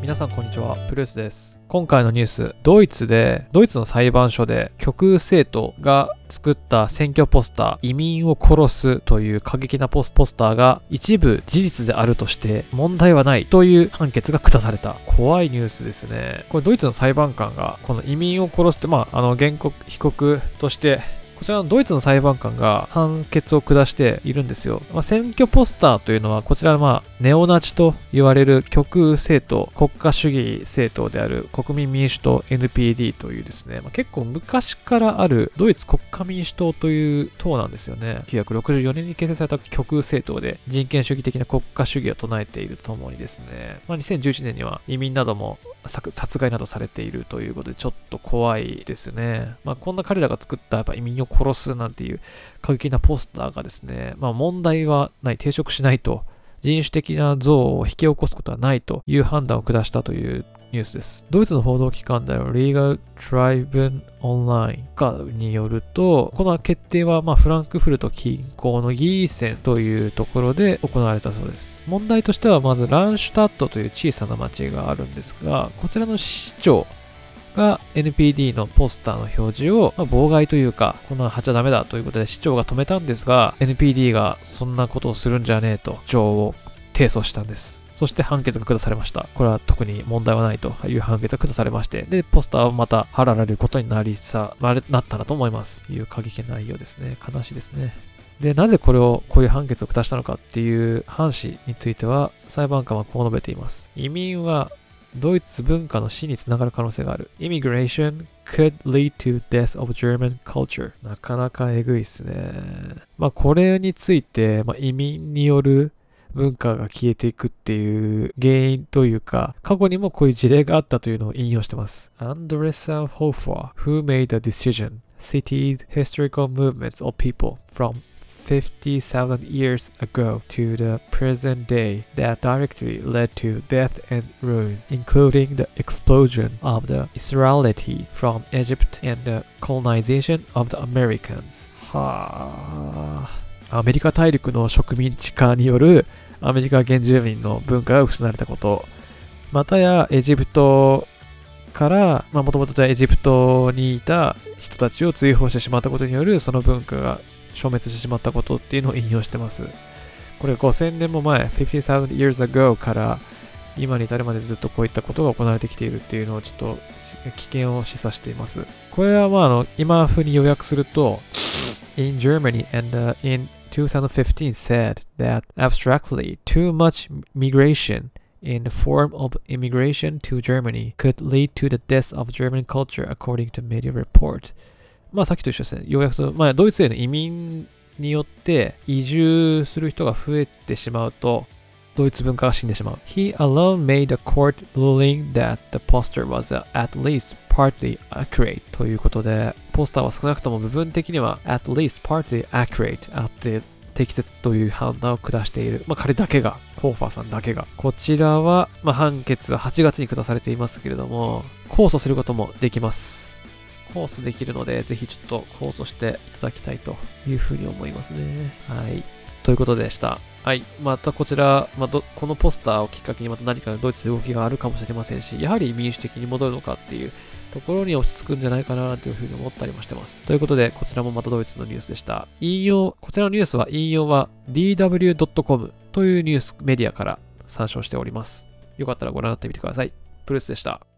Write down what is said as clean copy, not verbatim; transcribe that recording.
皆さんこんにちは、プルースです。今回のニュース、ドイツの裁判所で極右政党が作った選挙ポスター、移民を殺すという過激なポスターが一部事実であるとして問題はないという判決が下された。怖いニュースですね。これドイツの裁判官がこの移民を殺すって、被告としてこちらのドイツの裁判官が判決を下しているんですよ。選挙ポスターというのはこちらネオナチと言われる極右政党、国家主義政党である国民民主党 NPD というですね、結構昔からあるドイツ国家民主党という党なんですよね。1964年に結成された極右政党で人権主義的な国家主義を唱えているとともにですね、2011年には移民なども殺害などされているということでちょっと怖いですね。こんな彼らが作った移民を殺すなんていう過激なポスターがですね、問題はない、抵触しないと、人種的な憎悪を引き起こすことはないという判断を下したというニュースです。ドイツの報道機関である Legal Tribune Online によると、この決定はフランクフルト近郊のギーセンというところで行われたそうです。問題としてはまずランシュタットという小さな町があるんですが、こちらの市長が NPD のポスターの表示を妨害というか、こんなの貼っちゃダメだということで市長が止めたんですが、NPD がそんなことをするんじゃねえと市長を提訴したんです。そして判決が下されました。これは特に問題はないという判決が下されまして、で、ポスターはまた貼られることになったなと思います。いう過激な内容ですね。悲しいですね。で、なぜこういう判決を下したのかっていう判詞については、裁判官はこう述べています。移民はドイツ文化の死につながる可能性がある。Immigration could lead to death of German culture. なかなかえぐいですね。これについて、移民による文化が消えていくっていう原因というか、過去にもこういう事例があったというのを引用してます。Andressa Hofer, who made the decision, cited historical movements of people from 50,000 years ago to the present day that directly led to death and ruin, including the explosion of the Israelite from Egypt and the colonization of the Americans. アメリカ大陸の植民地化によるアメリカ原住民の文化が失われたこと、またやエジプトからもともとエジプトにいた人たちを追放してしまったことによるその文化が消滅してしまったことっていうのを引用してます。これ5000年も前、50,000 years ago から今に至るまでずっとこういったことが行われてきているっていうのをちょっと危険を示唆しています。これは今風に要約するとIn Germany and in 2015 said that abstractly too much migration in the form of immigration to Germany could lead to the death of German culture according to media report. さっきと一緒ですね。要約すると、ドイツへの移民によって移住する人が増えてしまうと、ドイツ文化が死んでしまう。He alone made a court ruling that the poster was at least partly accurate ということで、ポスターは少なくとも部分的には at least partly accurate あって適切という判断を下している。彼だけが、ホーファーさんだけが。こちらは、判決は8月に下されていますけれども、控訴することもできます。控訴できるので、ぜひちょっと控訴していただきたいというふうに思いますね。はい。ということでした。はい。またこちら、このポスターをきっかけにまた何かドイツで動きがあるかもしれませんし、やはり民主的に戻るのかっていうところに落ち着くんじゃないかなというふうに思ったりもしてます。ということで、こちらもまたドイツのニュースでした。こちらのニュースは引用は dw.com というニュースメディアから参照しております。よかったらご覧になってみてください。プルースでした。